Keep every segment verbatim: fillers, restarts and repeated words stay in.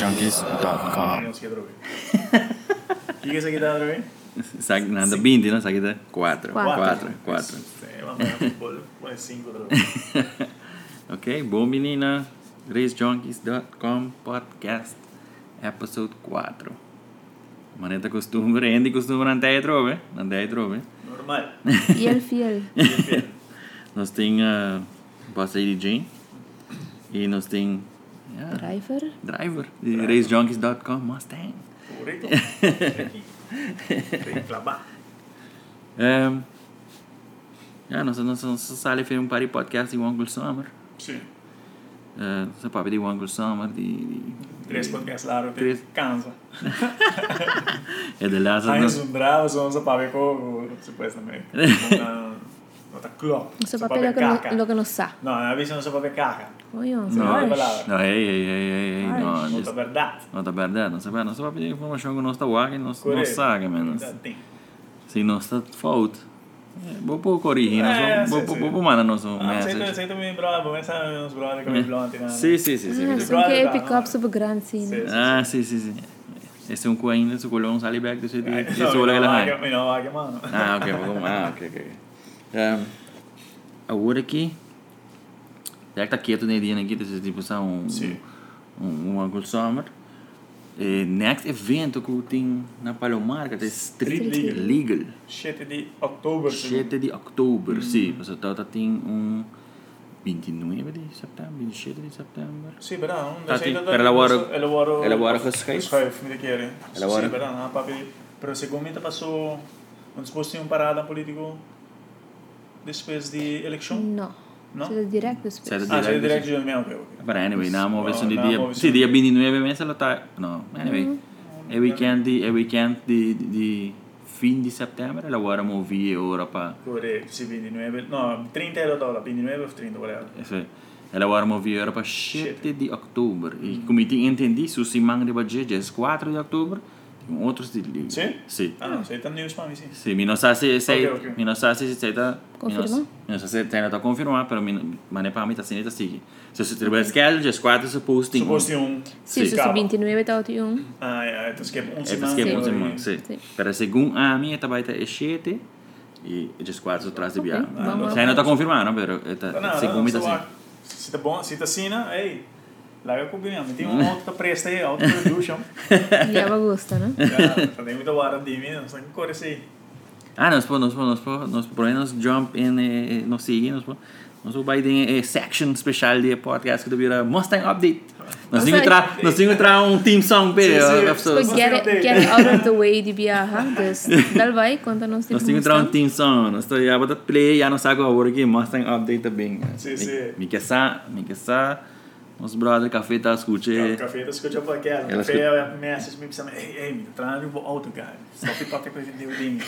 junkies dot com. Não sei droga. Que que é essa aqui da droga? Sa nada vinte, não? Sa aqui tá quatro. Quatro. Quatro. Quatro. É, vamos lá, futebol. Põe cinco droga. Ok, bom menina. race junkies dot com podcast episode quatro. Maneta costumbre, Andy costumbre não tem trove, não tem trove. Normal. Fiel, fiel. Nós tem uh, Boss Lady Jane e nós tem yeah, Driver. Driver de race junkies dot com Mustang. Correto. Tem que clavar. Um, yeah, nós nós nós sale fez um party podcast de Uncle Summer. Sim. Uh, sa papi de Uncle Summer de, de Três podcasts lá, eu Três. cansa. é de lá Aí nós uns bravos, uns a papi com supuestamente. Não tá club. Isso papel é lo que, lo que nos sa. Não, a vez não se pode caca. Oi, ó. Não, Harsh. palavra. não, ei, ei, ei, ei, ei, Ai, não, Não tá verdade. não tá verdade, não sabe, não sabe pedir informação que nós tá walking, nós nós sabe, menos. Tem. Se nós tá fault, vou pôr corrigir, É, nós vou sim, sim. vou vou mandar nosso Ah, sei message. sei também bravo, mas sabe uns brother que me blonde na. Sim, sim, sim, Ah, sim. são que é Brother, pick-up não. super grande, sim. Sim. Ah, sim, sim, sim. Esse é um cu ainda, se colheu um saliback desse Não, esse olha não, lá. não, não, não, mano. Ah, ok, vamos ah, ok, ok. Um, agora aqui, já que tá quieto nem dia aqui, desse tipo são um Sim. um um Uncle Summer. Eh, next evento que tem na Palomar, que é Street Street Legal. sete de outubro. sete de outubro, sim. Mas então tem um vinte e nove de setembro, vinte e sete de setembro. Sì, però non Ah, sei sì, da per lavoro- lavoro per lavoro con Skype? Skype, mi chiede. Sì, Lavoro- però no, papi, però secondo me passou non sposti un parada politico depois de election? Não. No? Isso é direto Sete depois. Ah, sei Direct, direct giorni, ok, ok. But anyway, na mo version No, di na dia. mo Sì, version- dia vinte e nove mesa ela tá. No, anyway. É weekend de é weekend de de fim de setembro, ela agora movi ora para Corretto, sì, ventinove, no, trenta euro dollari, ventinove o trenta, whatever. Isso. Ela agora movi ora para sete de outubro. E como eu entendi, se o Simang de budget é quatro de outubro, tem outros de liga. Sì? Sim. Ah, no, sei tanto news para me, sì. Sim, mi non sa se sei, Ok, ok. mi non sa se sei da Confirma? Mi non sa se sei da confermar, però mi ma ne parmi ta sineta sì. Se se treba schedule just quatro se posting. Supposti un... Sim, se Capa. o vinte e nove está o um. Ah, ja, het is che un É semana. porque Sim. é Simang, sim. Sim. Pero segundo a minha tá baita é sete e just quatro atrás de Ok, via. vamos Sai não tá confirmando, pero No, tá no, segundo mi tá so, sim. se tá bom, se tá sina, ei, larga com opinião. Tem um auto que presta aí, auto production. Já vai gostar, né? Ja, tem muita hora de mim, não sei que cor é esse. Ah, nós po, nós po, nós po, nós por aí nós jump in eh, nós seguir, nós po. Nós vamos vai ter section especial de podcast que devia Mustang update. Nós temos que tra, nós temos que tra um team song para Sim, sim. So pessoas. get, it- get it out of the way de viajar. Dus, dal vai, conta nos Nós temos que tra um team song. Nós estamos já botar play, já não sabe agora que Mustang update também. Sim, sim. Me quer sa, me quer sa. Os brother café tá escute. O café, tu escuta para aquela. O Ela café é a message, me precisa, ei, ei, me traz um auto, cara. Stop it, qualquer coisa de Deus.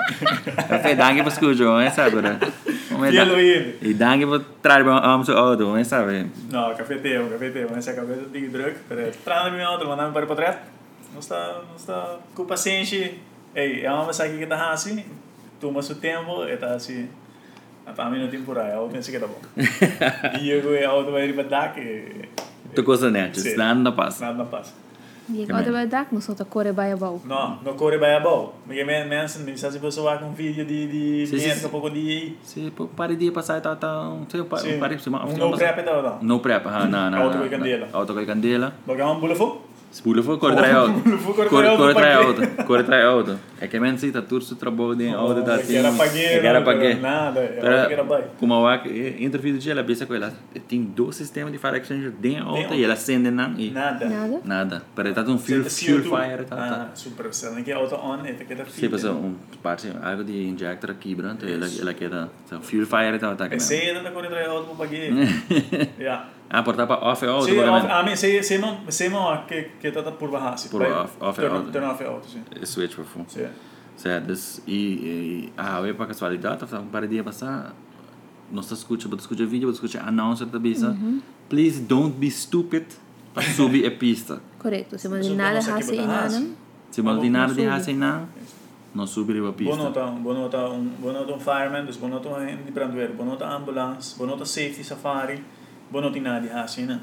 Café dangue para escute, não é sabe, né? Fielo ele. E dangue para trazer um seu auto, não é sabe. Não, café teu, café teu. Mas essa cabeça de druk, traz meu auto, mandar-me para o trás. Não está, não está com paciência. Ei, é uma mensagem que está assim, toma seu tempo, e está assim. A mim não tem por aí, eu penso que tá bom. E eu e a outra vai ir para dar que Tu coisa net, Sim. nada não passa. nada não passa. E agora vai dar, mas só tá corre vai bom. Não, não corre bem a bom. Porque mensen, me sabe se você vai com um vídeo de de Sim, sim, gente sim. que pouco de Se pare dia passar tá tá um seu sim. pare se Um no prep tá não. No prep, ah, não, não. Auto com candela. Auto com candela. Porque é um bulafo. Spule for corre trai auto. Bulafo Corre corre trai auto. auto. Corre trai auto. É que men tá tudo su trabalho de auto da Que era paguei. Que era paguei. Nada, era que era bem. Como a interview de ela pensa com ela tem dois sistemas de fire exchanger dentro auto e ela acende não e Nada. Nada? nada. Para tá um fuel fuel fire tá tá. Ah, super. Se não quer auto on, é que tá Sim, mas um parte algo de injector aqui branco ela ela quer fuel fire tá tá. É sei ainda corre trai auto para paguei. Ja. Ah, portar para off auto. Sim, a mim sei sei não sei não que que tá por baixo. Por off- off é auto. Turn off é auto, sim. Switch para full. Sim. Certo, e, e ah, eu para casualidade, tá um par de dias passar, nós escuta, vou escutar vídeo, vou escutar anúncio da bisa. Please don't be stupid para subir a pista. Correto. Se Mas não eu nada não sei que hace botar nada. raça. Se não tem nada de Não raça não, não subir a Boa pista. nota, boa nota um, boa nota um fireman, dus boa nota um de brandweer, boa nota ambulance, boa nota safety safari, boa nota nada de raça, né?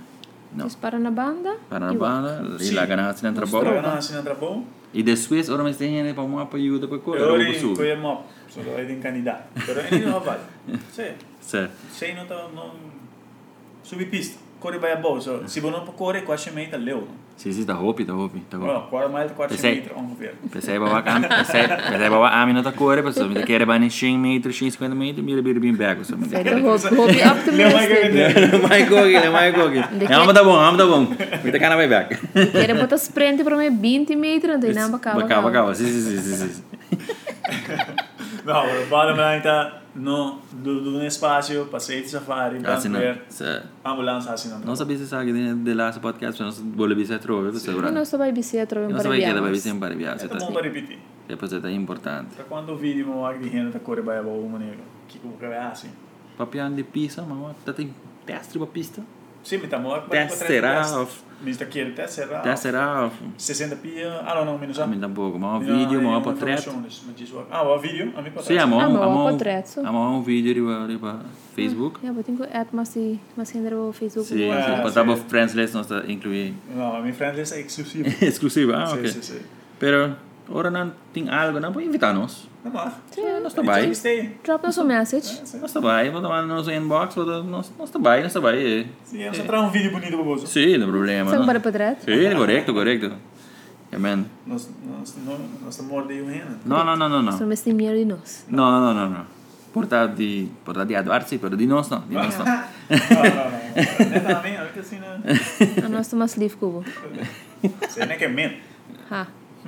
Não. Dus para na banda. Para na e banda, Sim. e lá ganhar-se na Para trabalho. ganhar assim entra bom. E depois, ora mais tem gente para uma ajuda para correr, Eu ou para ori subir. coia mop, só aí tem candidato. Pero ele não vai. Sei. Certo. Sei não tá não subir pista. Corre vai a boa, so se você não para correr quase meia leu. Sim, sim, está hopi, está hopi, está hopi. Não, quase mais quase Pensei- meia ongeveer. Pensei bawa kami, pensei, pensei bawa amin na ta correr, mas me quer ba ni cem meter, cem cinquenta meter, mira bir bin back, so me. Sei de hoop, hoop je optimistic. Mai gogi, mai gogi. Ja, maar dat bom, ja, maar dat bom. Me te kana vai back. Quero botar sprint para mim vinte metros, então não bacava. Bacava, bacava. Sim, sim, sim, sim, sim. Não, o bottom line tá no do do espaço, passei de safari, Assim não. ver Se ambulância assim não. não sabia se sabe de de lá esse podcast, não bole bi se trove, você Eu ora. não estou bicicleta para Não para sabia que era vai viagens. sempre para viagem, É tá. bom para repetir. Depois é importante. Para quando o vídeo mo ag de renda tá corre vai a boa maneira. Que como que é assim. Papian de pista, mas tá tem teste para pista. Sim, me tá mo Tester off. Mister Kier tester off. Tester off. sessenta pia, ah não, não, menos A mim tampouco, mas um vídeo, mas um portrait. Ah, o vídeo, a mim Sim, a Ah, mão, mas a o mão, portrait, so. a mão um vídeo riba riba Facebook. Ja, botem ko at masi mas hindi ro Facebook. Sim, mo. Ah, sim, sim. para dar friends list nós tá incluir Não, a minha friend list é exclusiva. exclusivo, ah, Sim, ok. sim, sim. Pero ora não tem algo, não pode invitar nós. Não mais. Nós tá bem. Drop nos message. Nós tá bem, vou tomar no nosso inbox, vou nós nós tá bem, nós tá bem. Sim, eu só trago um vídeo bonito para você. Sim, não problema. Saan não. para portrait? Sim, correto, correto. Amen. Nós nós nós estamos mordendo o renda. Não, não, não, não, So não. mas timir di nos. Não, não, não, não, não. Porta de porta de Eduardo, sim, pero de nós não, de nós não. Não, não, não. Neta a mim, olha que assim, né? Ano sto mas live kubo. Você nem que é men. Ha.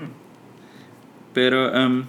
Pero um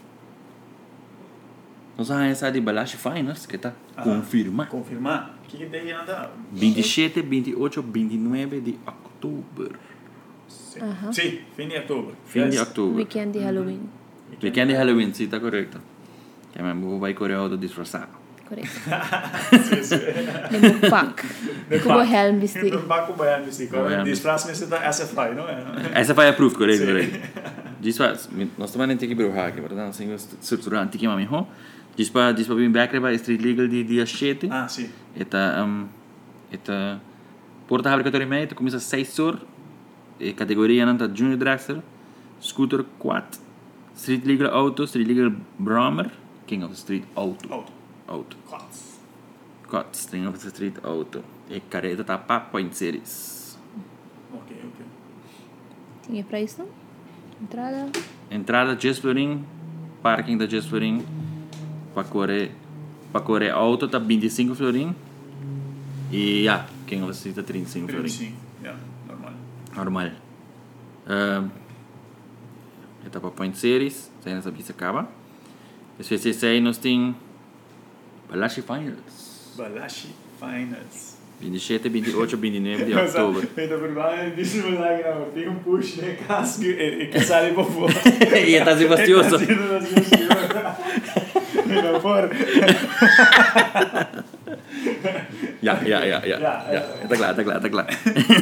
nós vamos essa de Balashi Finals que tá confirma. Confirmar. O que que tem anda? vinte e sete, vinte e oito, vinte e nove de outubro. Aha. Sim, fim de outubro. Fim de outubro. Weekend di Halloween. Weekend de Halloween, sim, tá correto. Que a minha vai correr auto disfarçado. Correct. Sim, sim. Nemo pack. Kubo helm bisti. Não vai com banho, bisti. Banho. Disfraz-me se da S F I, não é? Essa foi approved, correto, Sim. correto. Dispas, nós também não tem que brouxar aqui, portanto, assim, estruturar antiga mami, ho. Dispa, dispa bem back para street legal de dia sete. Ah, sim. Eta um eta porta fabricatório meio, começa seis horas. E categoria não tá junior dragster, scooter quad, street legal auto, street legal Brahmer, king of the street auto. Auto. Auto. Quats. Quad, king of the street auto. E careta tá pa point series. Ok, ok. Tinha pra isso não? Entrada. Entrada Just Florin, parking da Just Florin, para correr, para correr auto tá vinte e cinco florin. E já, king of the street tá trinta e cinco florin. Sim, yeah, normal. Normal. Uh, etapa point series, sai nessa pista acaba. Depois desse aí nós tem Balashi Finals. Balashi Finals. vinte e sete, vinte e oito, vinte e nove de outubro. Ainda por lá, disse me lá que não, tem um push, né? Casco e que sai para fora. E tá se bastioso. Ainda fora. Ja, ja, ja, ja. Ja, Ja, tá claro, tá claro, tá claro.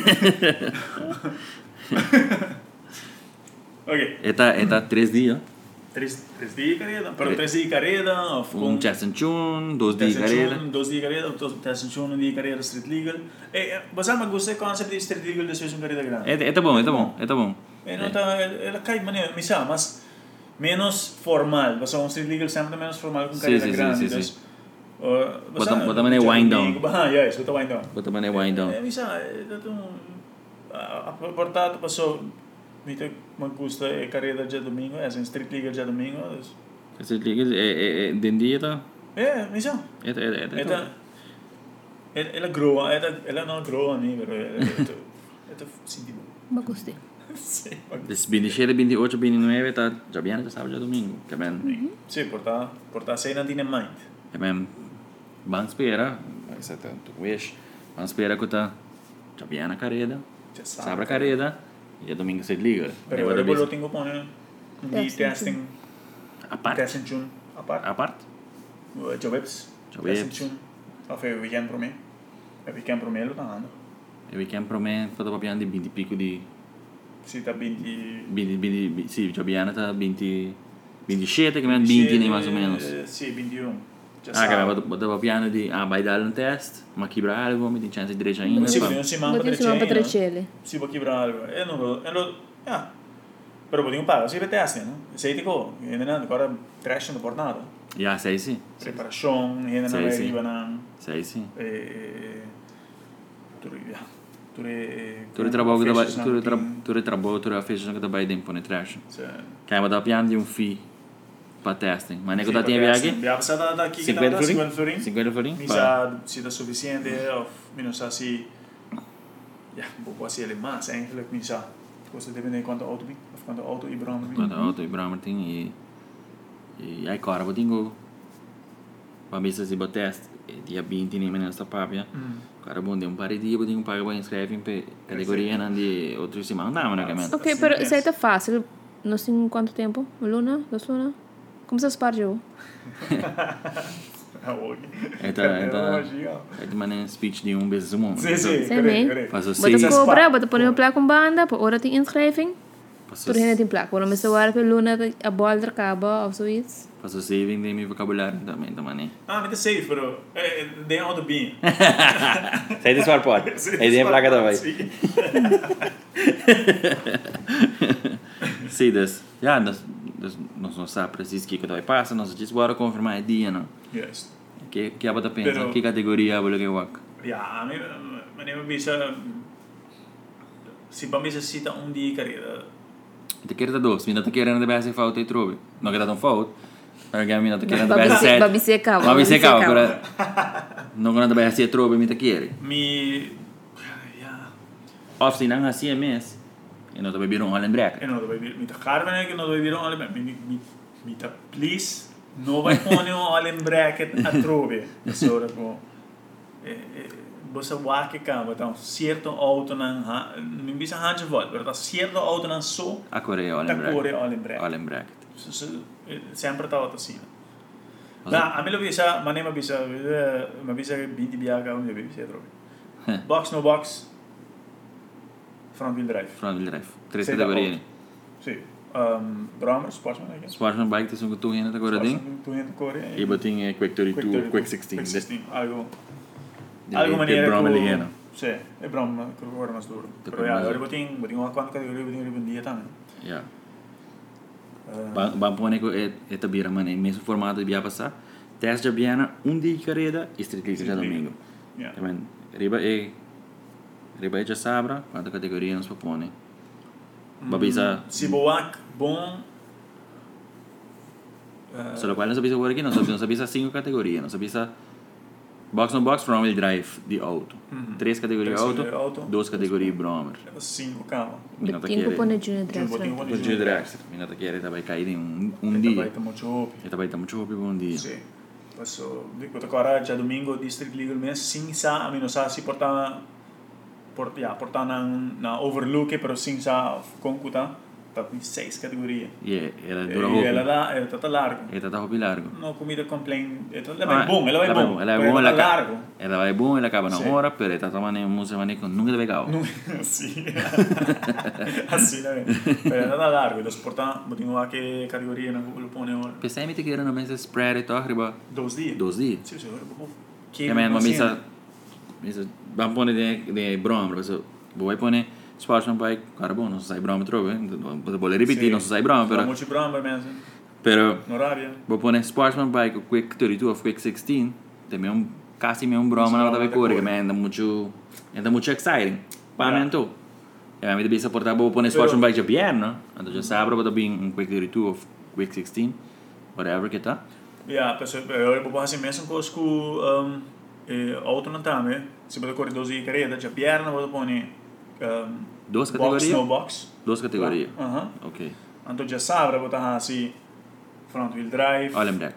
Ok. Eta, eta três dias. Três, três dias carrera, pero três dias carrera, of Um chest and tune, dois dias carreira. Dois dias carrera, test and tune, um dia carrera street legal. Eh, você me gosta do conceito de street legal depois um carreira grande. É, é tá bom, é tá bom, é tá bom. Eh, não tá, ela cai maneira, misa, mas menos formal. Você um street legal sempre menos formal com Sim, carreira sim, grande. sim, então, sim. uh, Bota- bota maneira wind down. Ah, yes, bota wind down. Bota mané wind down. Eh, misa, dato a portato passou Mita me gusta a carreira de domingo, é assim, street legal de domingo. Esse liga é é é den dia tá. É, misa. É é é. Ela ela groa, ela ela não groa nem, pero ela ela sentido. Bagus din. Sim, Des vinte e sete, vinte e oito, vinte e nove tá já bem já sábado já domingo. Que bem. sim, porta porta sei não tinha mind. Que bem. Vamos esperar, vai ser tanto wish. Vamos esperar que tá já bem na carreira. Sábado a carreira e já domingo se liga. Pero eu vou tenho pôr de Testing. testing, A parte. testing tune, a parte. A parte. Jobs. Jobs. Testing tune. Of é weekend para mim. É weekend para mim, lo tá andando. E weekend pro me foto papian di vinte e pico di Se tá vinte vinte vinte sì, già bene tá vinte ventissette che me vinte nem mais ou menos. Sim, vinte e um. Já Ah, que sabe. vai botar piano de ah, vai dar um teste, mas quebrar algo, me tem chance de direito ainda. Sì, pá. non si manca Botin suma pa trecento. trecele. Si può quebrare algo. E non lo... E lo... Ja. Però potevo pagare, si testi, no? Sei tipo, e non ancora trash non portato. Ja, sei sì. Preparazione, e non Sì, sì. arrivano... Sei sì. E... Tu ja. Tu re... Tu ritrabalho da tu ritra tu ritrabalho tu fez que da vai tempo ne trash. Sì. Che ma da piano di un fee para testing. Ma ne Sì, cosa ti perché viaggi? Abbiamo passato da chi che cinquanta da florin? cinquanta florin. cinquanta florin? Mi Pa. sa si da sufficiente of mi non sa si ja, può essere más eigenlijk mi sa. Questo dipende di quanto auto bi, of quanto auto i brand bi. Quando auto e Bramertin e e ai cara botingo. Pa misa si test e dia vinte nem nessa papia. Cara bom de um par de dia botingo paga para inscrever em categoria não de outro se manda, mas não é Ok, pero isso aí tá fácil. Não sei em quanto tempo? Uma luna? Duas luna? Como você spar jogo? Ah, ok. Eta eta é de maneira speech de um vezes um. Sì, sì, Sì, corretto, me. corretto. Faz o Bota seis. cobra, bota pôr uma placa com banda, por hora tem inscreving. Faz Por aí tem placa. Quando me soar pela luna, a bola acaba, ou so isso. o saving de meu vocabulário também da maneira. Ah, mas é safe, però. Eh, de auto bi. Sai dispar pode. É de placa da vai. Sì. Sim, das. Ja, das das nós não sabe preciso que que vai passar, nós diz bora confirmar dia não. Yes. Que que abata pensa, Pero- que categoria vou que wak. Ja, a me me ne bisa si ba bisa sita un di carriera. Te quer da dois, mina te querendo de base falta e trobe. Não que dá tão falta. Mas que mina te querendo de Babi base se- sete. babi se cava, Babi babi se se cava, cava. pero não quando de base trobe me te quer. Mi ja, Of se não assim é mês. E não te beber um Holland Break. e non dovevi mi toccare bene che non dovevi dire alle mi mi mi ta please no vai pone all in bracket a trove. Sora ko e bossa wa che cava, então certo auto nan non bisa hange volt, però certo auto nan so A Coreia da Holland Break. cuore all in bracket. Holland Break. Sempre stato assim. Ma a me lo bisa, ma ne ma bisa, ma bisa che binti biaga un devi sia trovi. Box no box. Front wheel drive. Front wheel drive. Três Sei da categorias. Sì. Um, Brahmer, Sportsman, I guess. Sportsman bike te são tu ainda agora ding. Tu in Korea. E botin é Quick thirty two, Quick sixteen. Quick sixteen. Algo. De- Algo de maniera Brahma co- Ligena. Sì, è Brahma, che ora mas duro. Te Però ja, mas- ora botin, botin uma quanto categoria botin riben dia também. Ja. Bang pone ko é é tabira man em mesmo formato de via passar. Teste de Biana um dia de carreira e street league já domingo. Ja. Também riba é riba é já sabra quanta categoria nos propõe. Babisa Si boak bom. eh, só qual não sabia agora aqui não sabia não sabia cinco categorias, não sabia box no box front wheel drive de auto. Três categorias Três auto, categorias auto. duas categorias Brahmer. Cinco carro. Mina tá Botin ko po querendo. na Junior Dress. Botin right? ko O dia Drexler, mina tá querendo vai cair em um um Ita dia. vai tamo chope. E também tá muito rápido um dia. Sì. Adesso dico agora già domingo district legal mes sin sa a meno sa si portava port ja portava na na overlook però sin sa concuta per seis categorie. E era dura E ela roupa. dá era tata largo. E tá rápido largo. No comida complain. Ela vai bom, ela vai Ela vai bom. ela é però bom, ela ela largo. acaba. Ela vai bom, ela acaba na Sì. hora, pero tá tomando um música maneco nunca deve cair. No, sì. Assim, né? Però ela dá largo, eles portam, botinho a que categoria na lo pone ora. Pensei me te querendo mais spread e tal, riba Dois dias. dois dias. Sì, sì, ora boh. Che Que man, uma misa misa vamos pôr de de broma, mas vou pôr Sportsman bike, cara bom, não sai broma trove, vou vou repetir, não sai broma, Però pero molti bramba mezzo. pero No rabbia. vou pôr Sportsman bike, o Quick thirty two of Quick sixteen, também um quase mesmo broma na broma outra da cor, que cor. man, anda muito anda muito exciting. Pa Yeah. mento. E a mim deve suportar vou pôr Sportsman bike de pierna, então já sabe, vou também um Quick thirty two of Quick sixteen, whatever que tá. Ja, penso eu vou fazer mesmo com com um e auto não tá, né? Se você correr doze carreira, já perna vou pôr um Duas box categorias? no box. Duas categorias. Aham. Ok. Então já sabe, vou tá assim front wheel drive. Olha, break.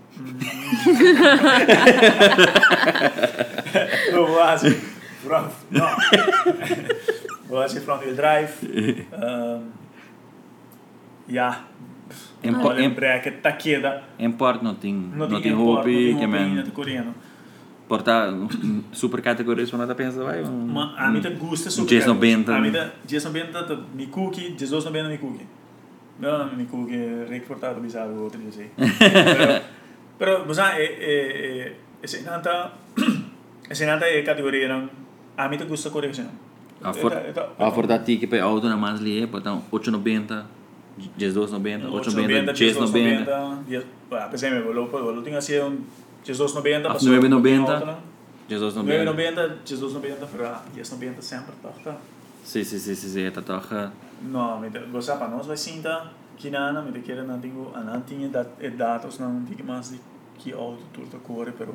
Eu vou assim front, não. Vou assim front wheel drive. Um ja. Em- Olha, em- bracket tá queda. Import não tem, Não não tem tem import, roupa não tem que roupa, não man tem coreano. portar super categorias para nós pensar vai um Ma a mim te gusta super. Jason Benta. A mim te Jason Benta te mi cookie, Jesus não bem mi cookie. Não, mi cookie reportado bizarro outro dia sei. Pero, você é é esse nanta esse nanta é categoria não. A mim te gusta correção. A for a for dati que pe auto na mais lie, então oito e noventa, dezesseis e noventa, oito e noventa, dezesseis e noventa. Ah, por exemplo, lo lo tinha assim um dezesseis e noventa, passou nove e noventa, dezesseis e nove e noventa. noventa, dezesseis e noventa, para dezesseis e noventa sempre, tá? Sim, sim, sim, sim, tá toca. Não, me você para nós vai sinta que nada, me te querer não tenho, não tinha dados não tinha mais de que auto tudo corre, pero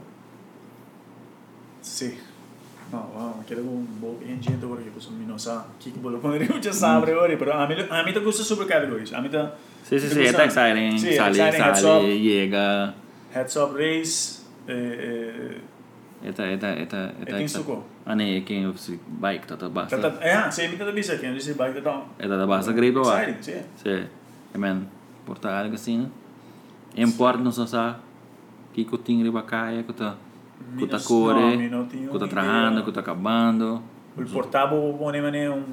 sim. Não, wow, quero um bom engine agora que você não sabe que que bolo poderia já sabe agora, pero a mim a mim te gusta super categories. A mim tá Sim, sim, sim, é exciting, sale, sale, chega. Heads up race eh Eta eta eta eta. tem suco. Ane que eu se bike tá basta. Tá é, sei me tá bisa que disse bike tá. Eta da basta great lá. Exciting, sim. Sim. É man, porta algo assim. Import não só sa que que tem riba caia, que tá que tá core, que tá trajando, que tá acabando. O portável pone mané um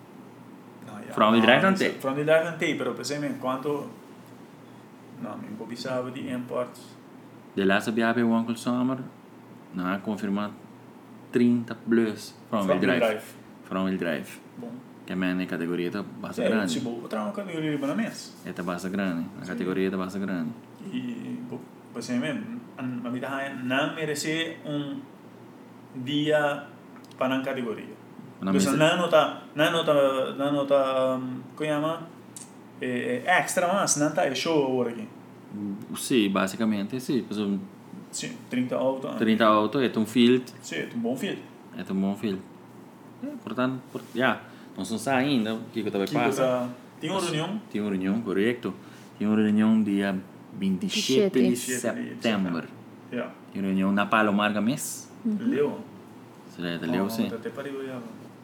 From the drive não tem. From the drive não tem, pero pensei me quanto não, me pobisava de import. De laatste B H P Wankel Summer, na confirmado trinta plus from wheel drive. From wheel drive. Bom. Que é a categoria tá bastante É, grande. se vou botar uma categoria para mês. É tá bastante grande. A categoria tá bastante grande. E pensei me a mim tá não merece um dia para a categoria. Na Então mesa. não nota, não nota, não nota, como chama? É extra mas não tá é show agora aqui. Sim, basicamente sim. Pessoal, Sim, trinta auto. trinta auto é um field, Sim, é um bom filho. é um bom field. É, portanto, por, já, não são só ainda o que que tá vai passar. Tem uma reunião? Tem uma reunião, correto? Tem uma reunião dia vinte e sete de setembro. setembro. Ja. Tem uma reunião na Palomar Games. Leo. Será que leu sim? Até para eu já.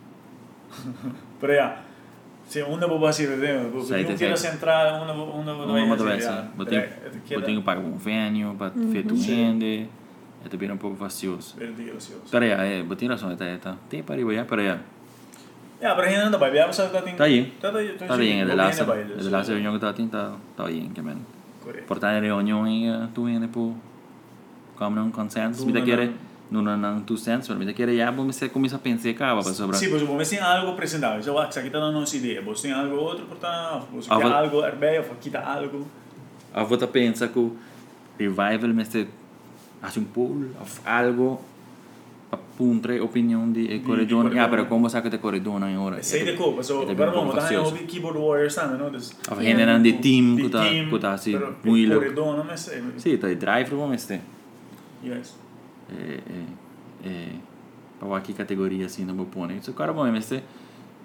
Pero já. Se uma boa assim, né? Eu quero centrar uma uma Uma motovedse. Eu tenho que pagar um venue para feito rende. É também um pouco facioso. Para aí, é, botinha razão, tá, tá. Tem para aí, para aí. Ja, pero ainda vai, já você tá tem. Tá aí. Tá aí, tá aí, é de lá, é de lá a reunião que tá tem tá, tá aí, que men. Portanto, a reunião aí tu ainda por como não consenso, me quer não não tu senso, mas me quer já vamos se começar a pensar cá para sobre. Sim, pois vamos ter algo apresentável. Já aqui tá dando nossa ideia. Você tem algo outro, portanto, você quer algo herbei ou quita algo. A volta pensa que o revival mas te hace um pool of algo para puntre opinião de corredor. Ah, pero como sabe que corredor não é hora. Sei de copa, so agora vamos dar um hobby keyboard warriors também, não? A gente não de team que tá que tá assim muito corredor, não mas. Sim, tá de driver vamos ter. Yes. É é é para aqui categoria assim não vou pôr. Isso cara bom, mas é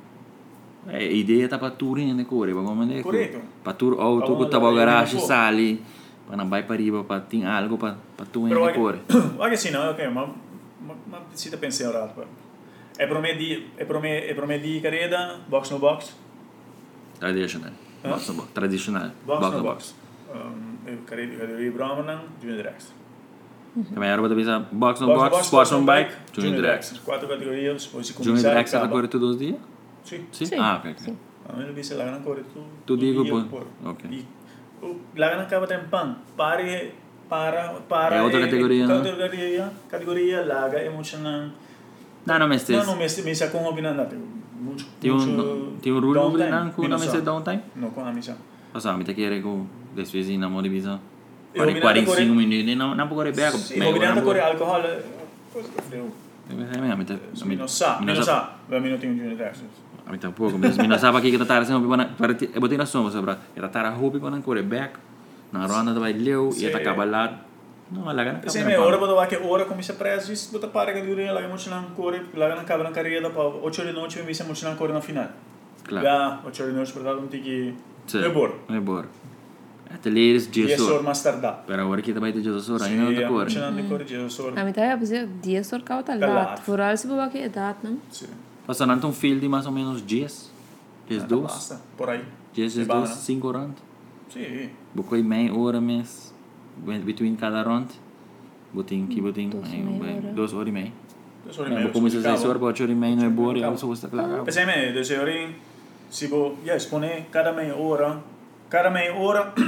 a ideia tá para tour ainda correr, vamos ver. Correto. Para tour auto que tá para garagem sali, para não vai para riba para tem algo para para tu ainda correr. Olha assim, não, ok, mas mas precisa pensar agora. É para mim de é para mim é para mim de carreira box no box. Tradicional. Box no box. Tradicional. Box no box. Um, eu carreira carreira Brahman, Junior Extra. Também era para pensar box no box, sports on bike, Junior Extra. Quatro categorias, depois se começar. Junior Extra tá correndo todos os dias? Sim. Sim. Ah, ok. Sim. A mim não vi se lá não corre tudo. Tu digo por. Ok. Lá não acaba tem pan. Pare para para é outra categoria, não? Categoria, categoria larga emocional. Não, não, mas não, não, mas mas é com opinião muito tem um tem um rule sobre não com não mas downtime? Não com a missa. Passar, me te quer que desse vez na mão de visão. quarenta e cinco minutos não não pode correr bem. Sim, opinião correr álcool, coisa que frio. É mesmo, então. Não sabe, não sabe. Vai minuto um Junior Extra. A mim tampouco, mas não sabe aqui que tá assim, para eu botei na soma sobre, era tá a hobby para não correr back. Na ronda vai leu e tá acaba lá. Não, lá gana. Sim, me hora para que hora começa preso, isso bota para que dure lá muito não corre, lá gana acaba na carreira para oito da noite, me muito não corre na final. Claro. Já oito da noite para dar um tique. É bom. É bom. Até leres dez horas mais tarde. Para agora que também tem dez horas ainda não tá corre. Sim, não corre dez horas. A mim tá a fazer dez horas cá tá lá. Por algo se boa que é data, não? Sim. Passando um field de mais ou menos dez. dez dois. Por aí. dez dois, cinco horas. Sim. Bocoi meia hora mês. Between cada round. Botin que botin. Duas horas e meia. Duas horas e meia. Como se seis horas para oito horas e meia não é boa. Eu só estou claro. Pensei me, duas horas. Se vou, yes, pone cada meia hora. Cada meia hora.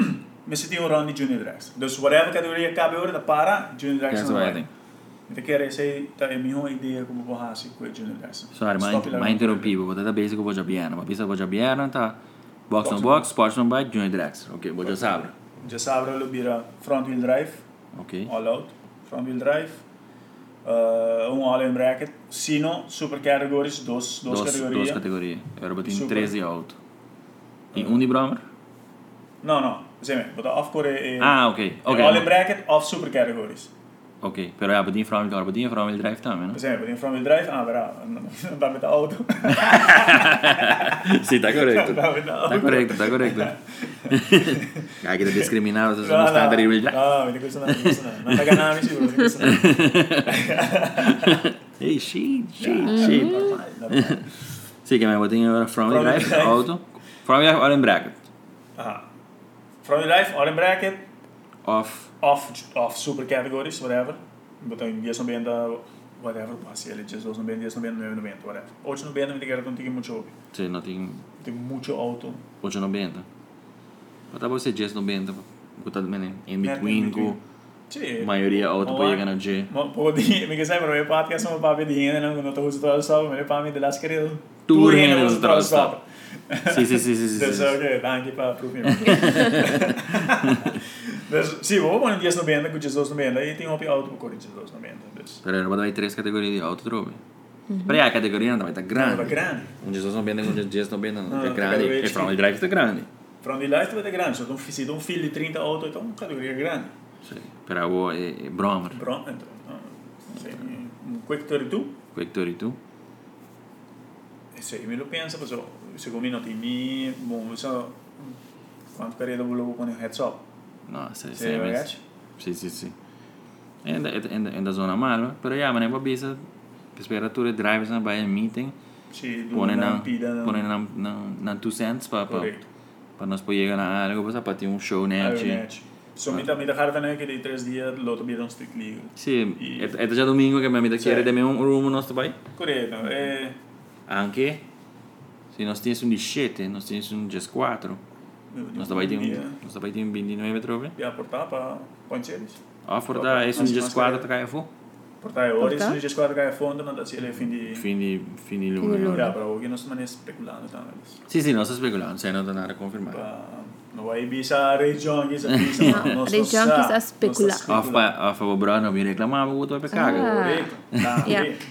mas se tem um round de Junior Dragster. Dus whatever categoria cabe hoje, tá para Junior Dragster That's não what I vai. think. Então quer dizer, tá é a minha ideia como vou fazer com o Junior Dragster. Sorry, ma, ma interrompi, porque tá basic vou já biano, mas pisa vou já biano, tá box no box, sports no bike, Junior Dragster. Ok, vou já sabe. Já sabe, ele vira front wheel drive, Ok. all out, front wheel drive, uh, um all in bracket, sino super categories, dos, dos, Dos, categorias. dos categorias. Agora botem Super. treze alto. E um de Bromer? Não, não, sim, botar off core é Ah, ok. Ok. all in bracket, off super categories. Ok, pero ja, botem front wheel, botem front wheel drive também, não? Por exemplo, tem front wheel drive, ah, verá, não dá met auto. Sim, tá correto. Dá met auto. Tá correto, tá correto. Kaya kita discriminado sa mga standard wheel drive. Ah, hindi ko sana, hindi ko sana. Nataga namin siguro, hindi ko sana. Hey, shit, shit, shit. Normal, normal. Sì, che mi botem agora front wheel Front wheel drive, drive. auto. Front wheel drive, all in bracket. Aha. Front wheel drive, all in bracket, Off. off, off super categories, whatever. Botar em diez noventa, whatever, passa ele, diez noventa, diez noventa, nove noventa, whatever. oito noventa, me quero tem muito hobby. Sì, no, tem Tem muito auto. oito noventa. Mas tá você dez noventa, botar também in Net between in between. com Sì. maioria auto para chegar no G. Ma po di mi che sai però podcast sono papi di hene non non to tutto so me le pami della scherzo Tu hene hene non uso to tro so Sì, sì, sì, sì, sì. That's sì. okay, anche para proof. Dus sim, vou pôr em diez noventa com Jesus noventa e tem um auto com Jesus noventa. Dus Però era vai três categorias de auto, trovi. Però a categoria não vai estar grande. Não, tá grande. Um Jesus não bem, um Jesus não bem, não Não, é tá grande. grande. E front wheel drive está grande. From the light vai ter grande, só um se um filho de trinta auto então uma categoria grande. Sì. Però o è Bromer. Pronto, então. Sei um quick trinta e dois. Quick thirty-two. Sì, me lo penso, però secondo me non ti mi, boh, so quanto carriera volevo con il heads up. No, sì, Sì, sì. ragazzi. Sì, sì, sì. E in da zona malva. Però ja, ma ne va bisa. Che sperature drivers na bij een meeting. Sì, Pone na pida, pone na na na two cents pa pa corretto. pa nós pode chegar na área, para para ter um show né. So, mi da mi da harta ne che dei tre giorni lo dobbiamo un strict legal. Sì, E- è, è già domingo che mi da chiedere Sì. da me un room nostro pai. Corretto, e Anche se nós temos um diciassette, nós temos um just quatro. Nós pai tem um, nós pai tem um ventinove trove. a portar pa point series. Ah, for da é um just quatro tá fu. Portare ora Portar? se ci squadra che a fondo non da si le fin di Fini fini Fini luna. luna. Ja, però che non sto speculando tanto. Sì, sì, non sto speculando, sai, non da nada confermato. Pa no vai bisa Ray Junkies a bisa No, Ray Junkies a speculare. Off pa off o bro non mi reclamava avuto per caga. Ah. Corretto. Tá, Ja. bem.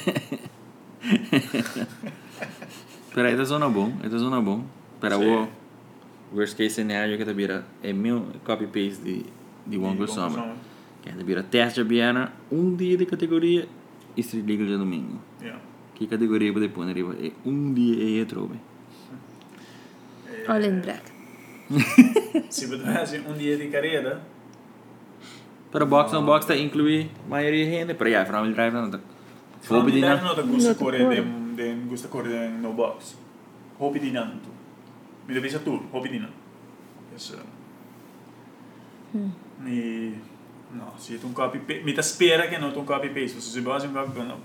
Però è zona bom, è zona bom. Però Sì. o worst case scenario che tabira è mio copy paste di di one good summer. Che tabira testa biana un dia di categoria e street legal de domingo. Ja. Che categoria pode pôr arriba é um dia e trove. All in black. Se potesse um dia de carreira, Però box on box tá inclui maioria gente, però ja, from drive não tá. From Fobi the di life na. non da gusto Not corre corre. den den gusto corre den no box. Hopi di nanto. Mi devi sa tu, hopi di nanto. Yes. Mi no, se tu un copy paste, mi ta spera che non tu un copy paste, se si basa un copy no.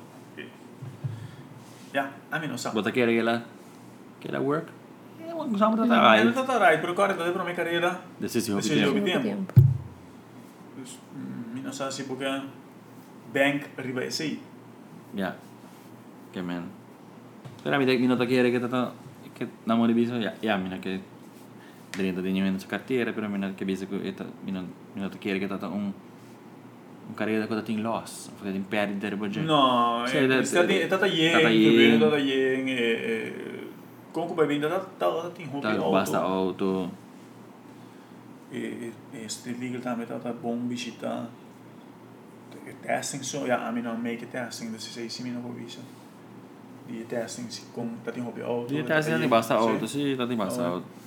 Ja, a me non sa. Bota quer aquela aquela work. É um summer tá Ah, tá. non sta right, però corre da per me carriera. Desse se Desse hobi jogo. tempo. tempo. Dus mi non sa se porque bank arriva e sei. Ja. Che man. Però mi dai mi nota che che tá che namoro biso, ja, ja, mina che dentro di niente su cartiere, però mina che biso che eta mina mi nota che che tá um un carriera che tá in loss, o in perdita per budget. No, Sì, è da- stata da- è stata stata ieri, ieri. è stata ieri e comunque poi vinta da da in hobby Tá basta auto auto. e e street legal também tá bom visita testing so ja, I mean not make it testing, das sei se mina visa. Di testing si com tá in hobby auto. Di testa tá basta auto, sì, tá basta Oh. auto.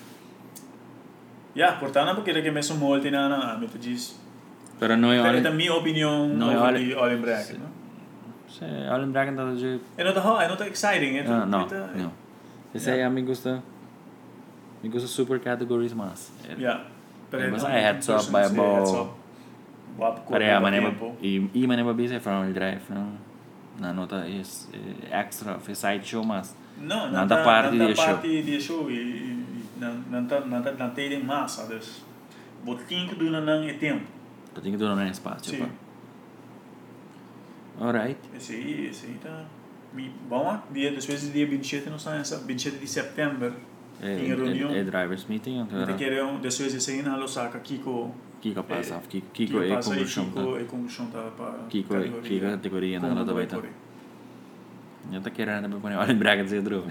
Ja, portando perché che messo molti na na, mi tu diz. Però noi È all la mia opinione Noi over all- di all in bracket, Sì. no? Sì, all in bracket tá de E non è not exciting, è Ah, no, tutto- no. Esse aí a mim gusta. Me gusta super categories mas. Ja. Eh, mas é heads up, by a ball. Pero ja, ma nema i i ma nema bisa from il drive, no. Na nota is eh, extra of side show mas. No, Não não tá tá parte não de tá show. parte de show e e não não tá não tá não tem massa, dus botinho que dura não é tempo. Eu tenho que doar um espaço, Sim. pá. Alright. Esse aí, esse aí tá... Bom, dia, depois do dia vinte e sete, não sai essa, vinte e sete de setembro, É, tem reunião. é, é drivers meeting, Então, agora. querem, depois esse aí na Osaka, Kiko... Kiko passa, É, Kiko, Kiko é passa aí, conclusão, Kiko tá? é conclusão tá para Kiko é Kiko é categoria, não, não tá bem, tá? Correto. Eu tô querendo também pôr olha em Braga dizer droga.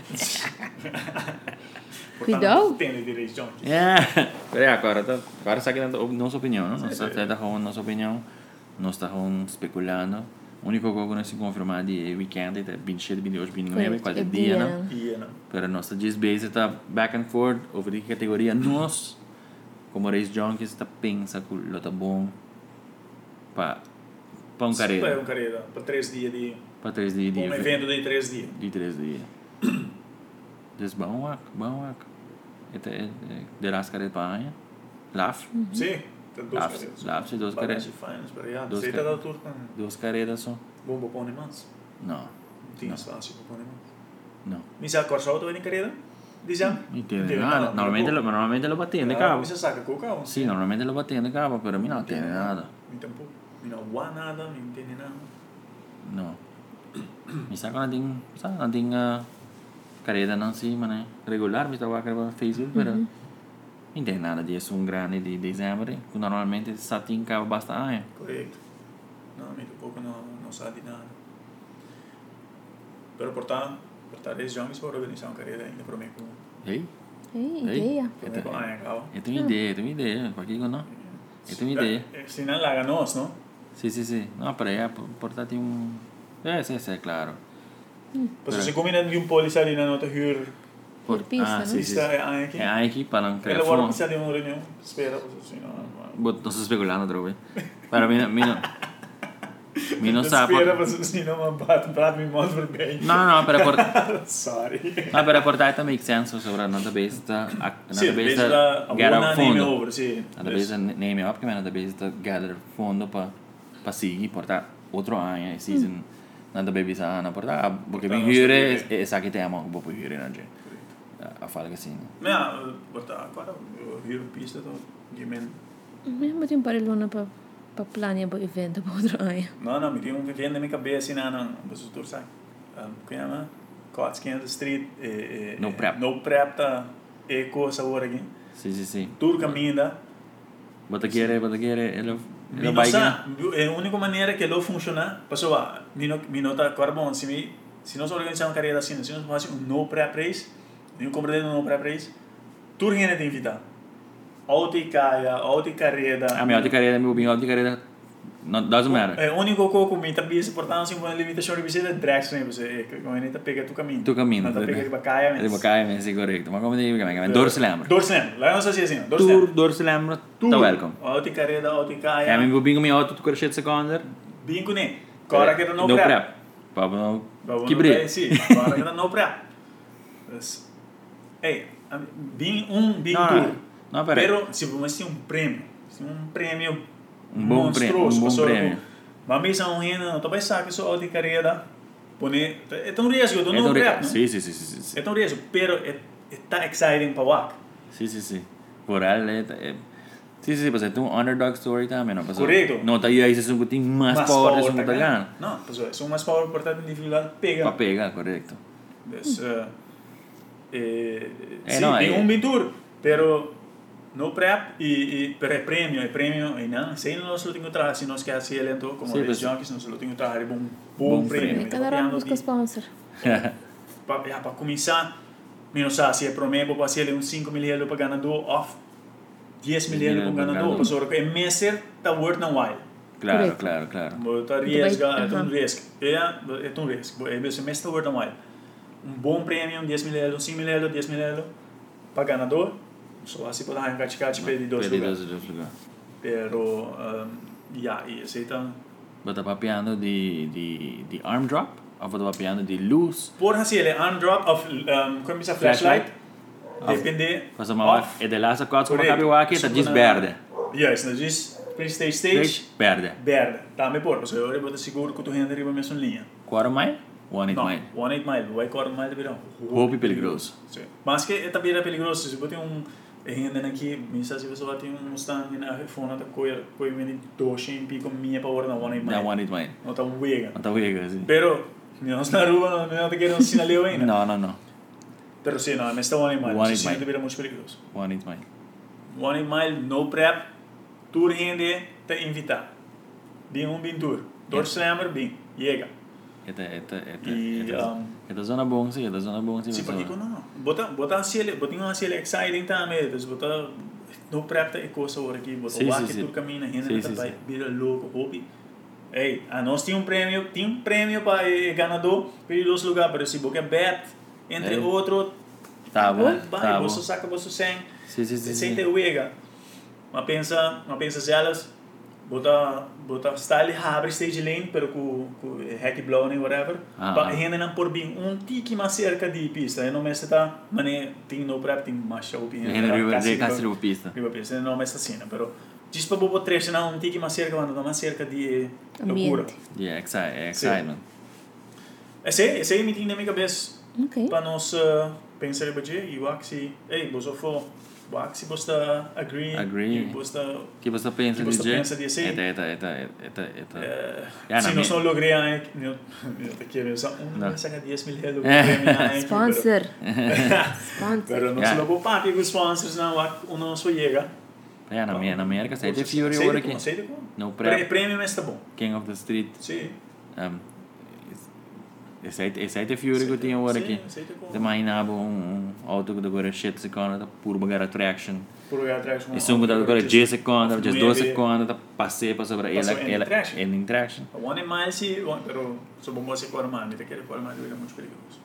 Cuidado. Tem direito, John. É, peraí, agora, tá, agora está aqui nossa opinião, não? Nós Sim, sim. está com nossa opinião, nós estamos especulando. O único que nós confirmamos é weekend, é vinte e sete, vinte e oito, vinte e nove, quase dia, não? E não. Pero nossa disbase está back and forth, over que categoria nós, como Race Junkies, está pensa que o tá bom para para um Para carreira, um carreira, para três dias de... para três dias de Um evento de três dias. de três dias. Des bom wak, bom wak. Ete é de las carreiras para amanhã. Laf, Sim, tem duas Laf, carreiras. Laf, duas carreiras. Finals, para aí. Duas Você está carreiras. da turma. Duas carreiras só. Bom, bom, pôr mans. Não, Não tinha Não. espaço para pôr mans. não. Me sabe qual só tu em carreira? Dizem? Não entendo nada. Normalmente lo, normalmente lo batendo de cabo. Você saca com o carro? Sim, normalmente lo batendo de cabo, pero a mim não entende nada. Me tampouco. Me não voa nada, me entende nada. Não. Me sabe que não tem, sabe, não tem uh, carreira não sim, né? Regular, me está a gravar Facebook, pero não entende nada disso. Um grande de dezembro, que normalmente só tem cabo bastante. Correto. Não, me tampouco não, não sabe nada. Pero portanto, portanto, esses jovens foram organizar uma carreira ainda para mim. Ei? Ei, Ei. ideia. Para mim, com a Anhal. Eu tenho ideia, eu tenho ideia. Por que não? Eu tenho ideia. Se não larga nós, não? Sim, sim, sim. Não, para aí, portanto, tem um... É, sim, sim, claro. Pues se combina de um polícia ali na nota huur. Por pista, ah, né? sim, sim. Pista é a aqui. É a equipe para não criar Ela agora fome. precisa de uma reunião. Espera, pues assim, não. Bot, não estou especulando outra vez. Para mim, mim não... Mim não sabe... Espera, pues assim, não me bate, bate me mostra bem. Não, não, para por... Sorry. Não, para portar também make sense sobre a database está... A Sim, database desde está a gather boa name fundo. over, sim. A database name up, que a database está gather fundo para para seguir, portar outro ano, e season... Na database está na portar, porque bem hyre, é essa que tem a mão que vou por hyre, né, gente? A fala que assim... Mas, botar agora, eu huur pista, então, de men. Mesmo tem para luna para para planear o evento para outro ano. Não, não, me tem um vivendo na minha cabeça, não, não, mas o tour sai. Como é, mano? Kotskins Street, No prep. No prep, tá, eco, sabor aqui. Sim, sim, sim. Tour caminho, Bota querer, bota querer, ele... Ele não vai sabe, é a única maneira que ele funciona. Pessoal, me nota agora bom, se me se nós organizamos uma carreira assim, se nós fazemos um no prep race, um compreendo um no prep race, tour ainda tem que invitar. Auto e caia, auto e carreira. A minha outra carreira, meu bem, outra carreira... Não, doesn't matter. É o único coco me tá bisa, portanto, assim, uma limitação de visita é drag, né? Você, como ele tá pega tu caminho. Tu caminho. Não tá pega de bacaia, mas... De bacaia, mas é correto. Mas como digo, mas dor se lembra. Dor se lembra. Lá não sei se é assim, dor se Tour, lembra. dor se lembra, tá welcome. Auto e carreira, auto e É, caia. mas meu bingo, minha auto, tu correte seconder. Bingo, né? Agora que era no No prep. prep. Para não... Vamos Que no brilho. prep, sim. Agora que era no prep. Mas, ei, bem um bem Não, tour. não, peraí. Pero, se você tem um prêmio, se um prêmio Um bom prêmio, um bom pessoal, prêmio. Mas mesmo um renda, não talvez sabe que só auto e carreira, pone, é tão risco, eu É não tão prep, re- não? Sim, sim, sim, sim, sim. É tão risco, pero é tá exciting para walk. Sim, sim, sim. Por ela, é... é- Sim, sim, mas é um underdog story também, não? Correto. Não, tá aí, aí você tem mais power, você não tá ganhando. Não, pessoal, são mais power por tanto individual pega. Para pegar, correto. Des, uh, eh, Eh, sí, no, tem eh. um bem tour, pero no prep e, e pero é prêmio, é prêmio e não, se nós não temos trabalho, se nós quer ser lento como Sim, os mas- junkies, nós não temos trabalho, bom Bom bom prêmio. Cada ano busca sponsor. Para para começar, menos sabe se é promessa para ser uns cinco mil euros para ganador off dez mil euros para ganador, pessoal, é messer tá worth não while. Claro, Correto. claro, claro. Botar Muito risco, bem, é um aham. risco. É, é um risco. É o semestre worth while. Um bom prêmio, dez mil euros, cinco mil euros, dez mil euros para ganador. Só assim pode arrancar de cá de pedir dois Pede lugares. dois lugares. Pero, um, yeah, e esse então... Bota papiando de, de, de arm drop, ou bota papiando de luz. Por assim, ele é on drop of, um, como diz a Flashlight? flashlight, depende... Faz uma off. é de lá, só quatro como Correto. cabe o aqui, tá Isso diz na- verde. Yes, não diz pre-stage stage, Stage, verde. verde. Tá, me por, você eu vou seguro que tu rende arriba mesmo linha. Quarter mile, one eight Não, mile. one eight mile, vai quarter mile de verão. Roupa e peligroso. Sim. Mas que é também é peligroso, se você tem um E ainda aqui, misa se você vai ter um Mustang na refona da coisa, coisa vem doce em pico minha para hora na one Na one it mine. não tá uega. Não tá uega, sim. Pero não está na rua, não te quero sinaleu ainda. Não, não, não. Pero sim, não, mas está one mile, One isso mile. não deveria muito perigoso. One it mine. One mile, no prep, tour gente te invitar. Bem um bem tour. Door slammer bem, chega. Eta, eta, eta, E eta, um, eta zona bom, sim, eta zona bom, sim. sim, porque não. Bota, bota assim, bota um assim exciting também, então bota no prep é coisa hora aqui, bota Sim, o sim, que sim. tu caminha, gente Sim, tá sim, vai sim. vira louco, hobby. Ei, a nós tinha um prêmio, tinha um prêmio para o ganador, para dois lugares, para se boca bet, entre Ei. outro, Tá bom, vai, tá bom. você saca, você sem, Sim, sim, sim, sem sim. ter uega. Mas pensa, mas pensa elas, bota, bota style abre stage lane, pero com com hack blow nem whatever, Ah, para ah. ainda não por bem um tique mais cerca de pista, eu não me está, mas nem tem no prep tem mais show bem. Ainda riba de casa riba pista. Riba pista, não me está assim, pero diz para bobo trecho não um tique mais cerca, quando mais cerca de loucura. Ambiente. Yeah, exci- excitement. Esse esse aí me tem na minha cabeça. Ok. Para nós uh, pensar em budget e o axi, ei, você for o axi você agree, Agree. e você Que você pensa Que de você Jay? pensa disso aí? Eta, eta, eta, eta, eta. se na nós minha- não logramos, eu eu te quero só um Não. saca dez mil reais Sponsor. pero Sponsor. não Yeah. se logo papi com sponsors não o não só chega. Ja, na minha, na América, sai de Fury Sei agora de como, aqui. sei de como. No Pre- prep, Prêmio mas tá bom. King of the Street. Sim. Um, esse aí, esse aí de Fury que eu tinha agora aqui. Sei de como. De imaginava um, um auto que agora shit seconda, puro bagar attraction. Por aí atrás. E sum que agora dez seconda, just doze Nueve. seconda, passei para sobre ela, Passou em ela, traction. ela em traction. One mais se, pero só bom você correr mais, te quero correr mais, é muito perigoso.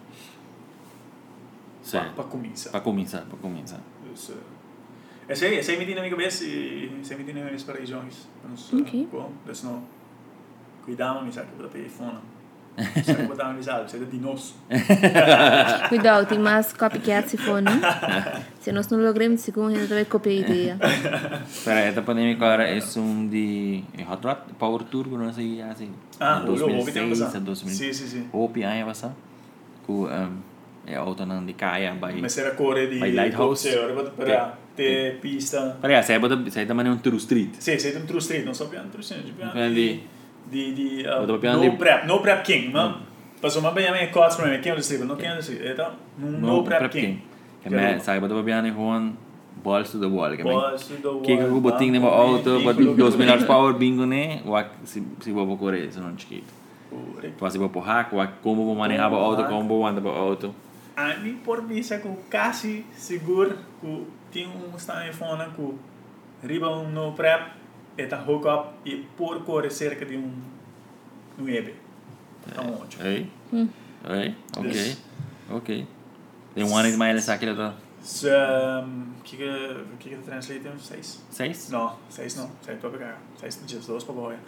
Sim. Para começar. Para começar, para começar. Dus, uh, esse aí, esse aí me tem na minha cabeça e esse aí me tem na minha cabeça para os jovens. Ok. Bom, dus não. Cuidado, me sabe, para ter fone. Sabe, botar uma visada, você é de nosso. Cuidado, tem mais copycat se for, não? Se nós não logramos, segundo, a gente vai copiar a ideia. Para esta pandemia agora é um de Hot Rod Power Tour que nós aí assim. Ah, o logo, ouvi tem dois mil e seis a passar. dois mil. Sim, sim, sim. O P I é passar. Com é auto não de caia by. Mas era correr de... By Lighthouse. Para ter pista. Para sai bota sai também um true street. Sim, sei um true street, não só piano true street, Piano piano de- de... de... Bota uh, piano no de- prep, no prep king, não? Passou uma bem a minha costa para mim, quem é o distrito? Não quem é o distrito, então, no prep king. Que me sai bota piano gewoon balls to the wall. Que me Balls to the wall, que que o botinho de banco, auto, bingo, bota bingo, dois bingo. milhões power bingo né, o se se vou correr isso não chiquito. Correto. Faz vou por hack, o como vou manejar o auto, como vou andar o auto. A mim, por mim, é que quase seguro que tem um telefone que riba um no prep, e tá hook up e por correr cerca de um no E B. Então, ótimo. Ei? Hum. Ei? Ok. Yes. Ok. Tem um ano de mais aqui lá. So, um, que que que que translate tem seis? Seis? Não, seis não. Seis para pegar. Seis dias, dois para boia.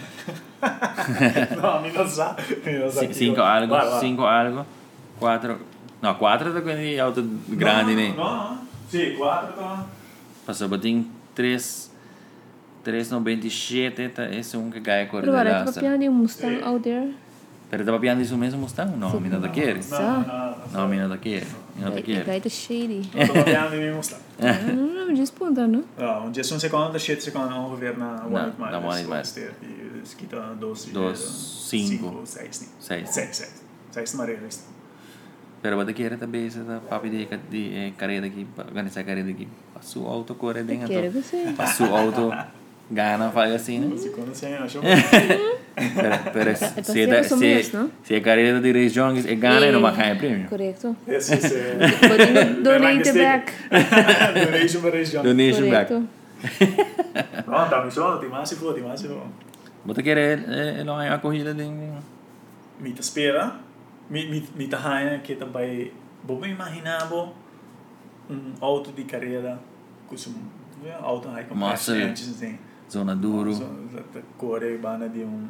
Não, a mim não sabe. Não sabe. Ci- Cinco algo, Vai, vai. cinco algo, quatro. No, quatro da quindi auto grande, né? Não, não. Sim, quatro tá. Passou botin três, três noventa e sete, tá? Esse é um que ganha cor de Pero agora, laça. copiando um Mustang out there. Pero tava piando isso mesmo Mustang? Não, mina da quer. Não, não, não. Não, mina da quer. Mina da Vai quer. vai tá shady. Não tô copiando mesmo, está. Não, não me disputa, não? Ja, want just een seconde, shit seconde ongeveer na Na- one na one hit mile. Dus kita dos, Dos, cinco. seis, niet. Seis. Seis, seis. Seis maar realist. Pero bota quer também essa da papi de de carreira aqui, organizar carreira aqui. Passou o auto corre bem Quero então. você. Passou o auto gana faz assim, né? Seconde sem, acho. Pero, pero se, passiamo da, su se, mesmo, no? se a carreira de Race Jones é gana e não vai ganhar prêmio. Correto. Yes, yes. Pode donate back. Donation maar is John. Donation back. Correto. No, tá me só, tem mais se for, tem mais se for. Bota quer é é lá a corrida de Mita spera, mi mi mita haina que também, vou me imaginar um auto de carreira com um auto high Muscle. assim. zona duro. Corre bana de um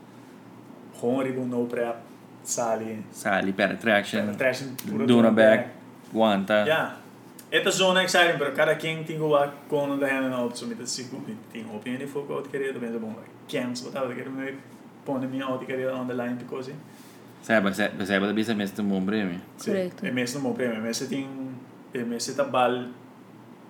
Honri com no prep sali Sali per traction. traction Duna back. Guanta. ja esta zona exciting pero cada quem tem o com da hand auto so mit se gut tem opinião de foco auto querer também é bom cans botar eu quero me pôr minha auto querer on the line because Sabe, sabe, sabe da bisa mesmo um bom prêmio. Correto. é mesmo bom prêmio mas tem é mesmo tá bal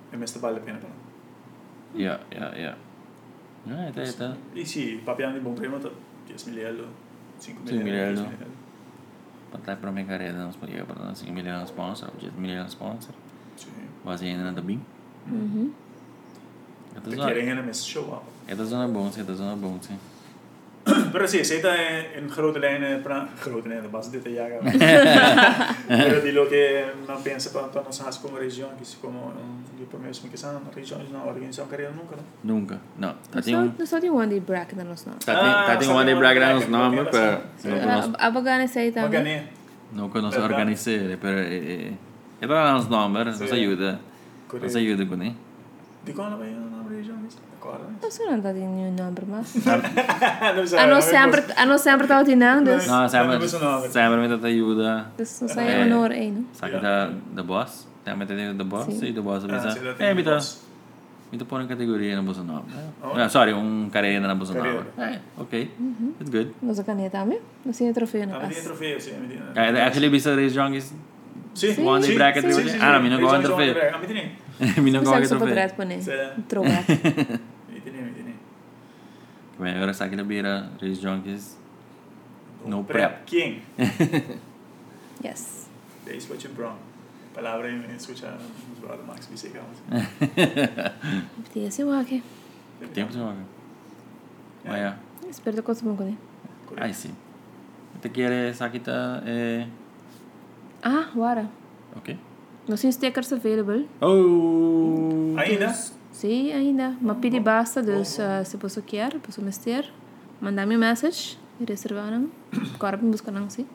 e mesmo vale a pena para. Ja, ja, ja. Ja, ito, ito. E se papiando de bom prêmio, tá dez mil euros, cinco mil cinco mil euros. euros. Patay para may kareda ng sponsor. Para ng cinco million sponsor. dez million sponsor. Sim. Base ainda na tabing. Mhm. Ito Te zona. querem ainda mesmo show up. Ito zona bom, ito zona bom, sim. Pero sí, se está en, en grote lijnen, para grote lijnen, base detalhada. Pero de lo que no piensa para todas nossas como região, que se como um, de primeiro que são regiões na organização carreira nunca, não? Nunca. No. Nós Tati yung... só- nós só tem one day bracket na nós não. Tati, Ah, tati yung sa one day mga brag na bracket, nos number, bracket, pero... sa- No conozco. Abogane sa ita. Uma gané. No conozco Verdad. organizar, pero... Eh, eh, ito na nos number, nos Sí. ayuda. Nos ayuda con eh. De qual é a região? Agora, né? Nós não tá tendo nenhum number mas. Não sei. A nós sempre, a nós sempre tá tendo, dus. No, sempre, Não, não, não. sempre me ayuda. Dus nós sai honor aí, não? Sa kita the boss. Tama tayo the boss. Sí. Sí. The boss Ah, bisa. sila Eh, bita. boss. Bita po ng kategorya ng boss number. Oh. Ah, sorry, yung karera ng boss number. Karera. Eh, okay. It's good. Nós a caneta também. Nós tem troféu na Ah, me tem casa. troféu, sim, me tem. Kaya actually bisa race junkies. Sim, Sim. One day sim, bracket sim, rin. sim, sim, Ah, sim. mi não gosto de Regiões troféu. onde bracket. Ah, me tem. Mi não Nós gosto de só troféu. podrá pôr, Sim. trocar. Me tem, me tem. Kaya agora sa akin bira race junkies. No Prep. Quem? Yes. É isso que eu brown. Palavra em escutar os brothers Max Biseca. Tem esse o aqui. Tempo sa mga. Maya. Espero que você bom com ele. Ay, sí. Te quiere sa kita eh Ah, wara. okay. Nós temos stickers available. Oh. Ainda? Sim, ainda. Mas pedi basta, dus uh, se você quer, você me ter, mandar-me message e reservar não. Agora me buscar não, sim.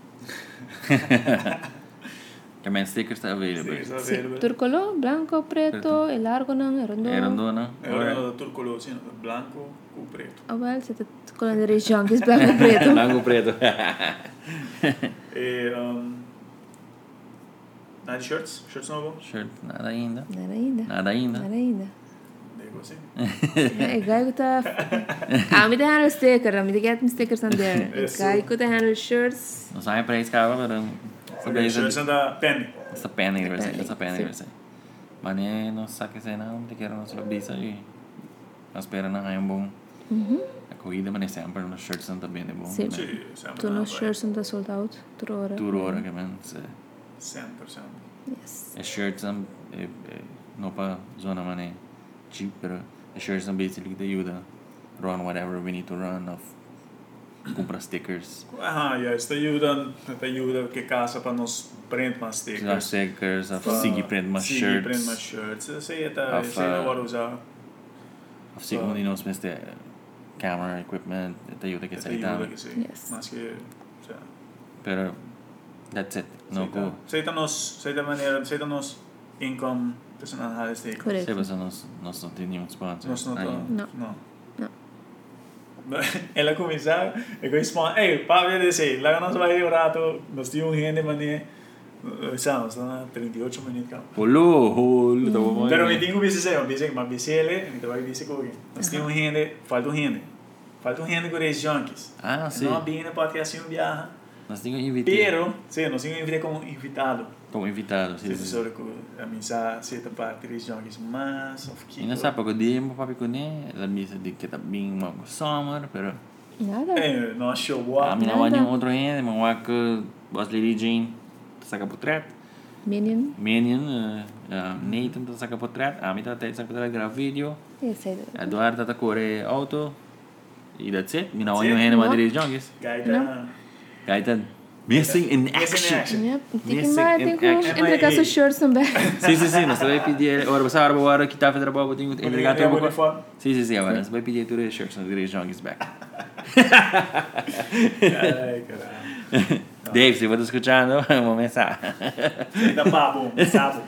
Kaya stickers ta available. Sim, Sim. available. Turcolo, blanco, preto, e largo não, e redondo. Eh, rondo na. Era turcolo, sim, branco com preto. Ah, well, você tá com de região que é blanco, preto. Blanco preto. E um, nada de shirts, shirts novo. Shirt, nada ainda. Nada ainda. Nada ainda. Nada ainda. Digo assim. É, gai que tá... Ah, me handle sticker, me get me stickers on there. Isso. Gai que tá handle shirts. Não sabe pra isso, cara, pero... Okay, shirts anda penny. Essa pena que vai ser, Penny, essa pena que sim. vai ser. Mas nem não sabe que sei não, te quero não se bisa e... Nós espera na raia um bom... A corrida, mas nem sempre nos shirts não tá bem de bom. Sim. Sim, sempre. Tu nos shirts não tá sold out. Tur hora. Tur hora que man, se... cem por cento. Yes. É shirts não... Não pra zona, mas nem... Cheap, pero... É shirts não basically te ajuda. Run whatever we need to run, of... Comprar stickers. Ah, ja, isso te ajuda, te ajuda que caça para nos print mais Usar stickers. stickers, of Sigi print mas Sigi shirts. print mais shirts. Isso aí tá, Of, isso aí não uh, vou usar. Of Sigi only knows meste camera equipment, te ajuda que Te sai ajuda tam. que sim. Yes. Mas que, já. Pero... That's it. No go. Sei tá nos, sei da maneira, sei da nos income personal high stake. Correto. Se você nós nós não tem nenhum sponsor. Nós não Aí, tá. Não. Não. Não. Ela começar, eu vou expor, ei, para ver desse, lá nós vai um rato, nós tínhamos gente mané, estamos na trinta e oito minutos cá. Holo, holo, tá bom. Pero me tenho que dizer, eu disse, mas disse ele, me vai dizer com alguém. Nós tínhamos gente, falta gente, falta gente com os junkies. Ah, sim. Não bem pode assim um viaja. Nós temos que invitar. Pero, sim, nós tínhamos invitado como invitado. Como invitado, sim. Se sim. você a mensagem, certa parte dos junkies, mas of E não sabe porque dia mo papi ko ni, la misa di kita bing mo summer, pero Nada. É, não achou a boa. mim não há nenhum outro ainda, mas há que boss Lady Jane saca portrait, Minion. Minion, uh, uh, Nathan tá saca portrait, a mim tá até saca portrait grava vídeo, Esse aí. Eduardo tá corre auto, e that's it. Mim não há That's nenhum it? ainda Não. mas dirige junkies. Gaita. Gaita missing in Missing in action. action. Yep. Tem que Missing mais, in tem que action. entregar seus shirts também. Sim, sim, sim, nós vai pedir, ora você agora agora que tá fazendo trabalho, tem que entregar Entregar tudo. o uniforme. Sim, sim, sim, agora nós vai pedir tudo os shirts, nós dirige junkies back. Ai, caralho. Dave, se você está escutando, uma mensagem. Ainda papo, sabe?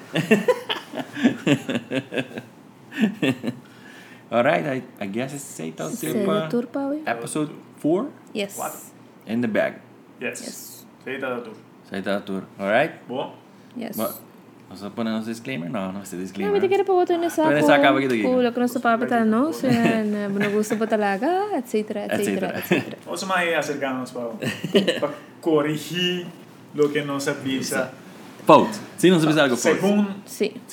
Alright, I, I guess it's eight out Esse é of o tour, Paui. episode four Yes. Quatro. in the bag. Yes. Yes. Feita da tour. Sai tá tour. Alright? Bom, Yes. But, nós vamos pôr nosso disclaimer? Não, não vai ser Não, disclaimer. mas tem que ir para outro nessa. Pero nessa acaba aqui daqui. Kung não se papa tal não, se não gosto pa talaga, etc, etc, etc. vamos mais acercarmos para para corrigir o que não sabia. Fault. Sim, não sabes algo fault. Segundo, Sim. sim,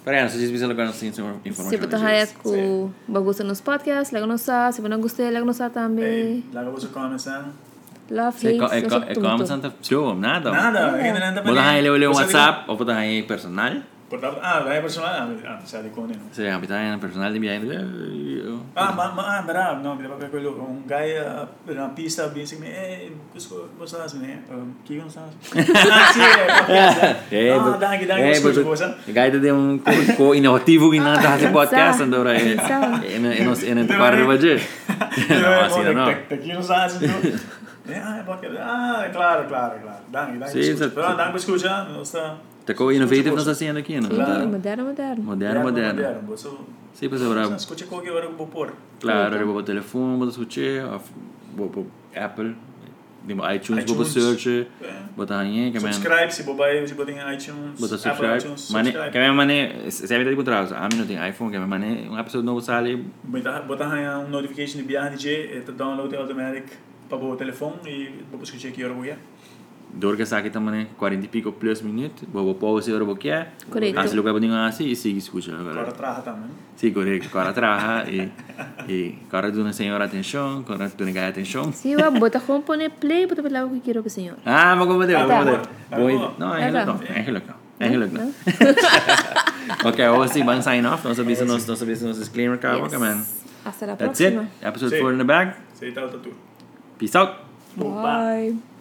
Para se vocês agora sem informação. Se você hay com bagus nos podcasts, lego nos sa, se você não gostou, lego nos sa também. Laga você começando. Love, É hate, co- é como santa show, nada. Nada, ainda não tá Botar aí ele um WhatsApp ou botar aí personal. Portanto, ah, vai personal, ah, sabe com ele. Se habitar em personal de bem. Ah, mas ah, bravo, não, me lembra que eu um guy na pista bem assim, eh, cusco, você sabe, né? Que não sabe. Ah, sim, é. Ah, danke, danke, cusco, você. Guy de um co inovativo que não tá fazendo podcast andou aí. E não e não para fazer. Não, assim não. Aqui não sabe, ah, é porque ah, claro, claro, claro. Danke, danke. Pero danke escucha, não está. Tá com innovativo nós fazendo aqui, não? Sim, moderno, moderno. Moderno, moderno. Sim, pois é, bravo. Escucha qualquer hora que eu vou pôr. Claro, eu vou o telefone, vou escutar, vou pro Apple, vou iTunes, vou search, botar aí, que man. Subscribe se bobai, se botar em iTunes. Botar subscribe. Mane, que man mane, se é verdade por trás. A mim não tem iPhone, que man mane, um episódio novo sai. Botar botar aí um notification de biar D J, é download automatic para o telefone e vou escutar aqui hora que Dor que saque também quarenta e pico plus minutos, vou pause hora que é. Correto. Assim lugar bodinho assim e sigue escuta agora. Agora traja também. Sim, correto. Agora traja e e agora tu não senhora atenção, agora tu não ganha atenção. Sim, eu bota como pôr play, bota lá o que quero para senhor. Ah, mas como deu, como deu. Bom, não, é legal, é legal. É legal. Okay, hoje vamos sign off. Não sabia se nós, não sabia se nós disclaimer acaba, que man. Hasta la That's it. próxima. Episode four in the bag. Sei tal tudo. Peace out. Bye.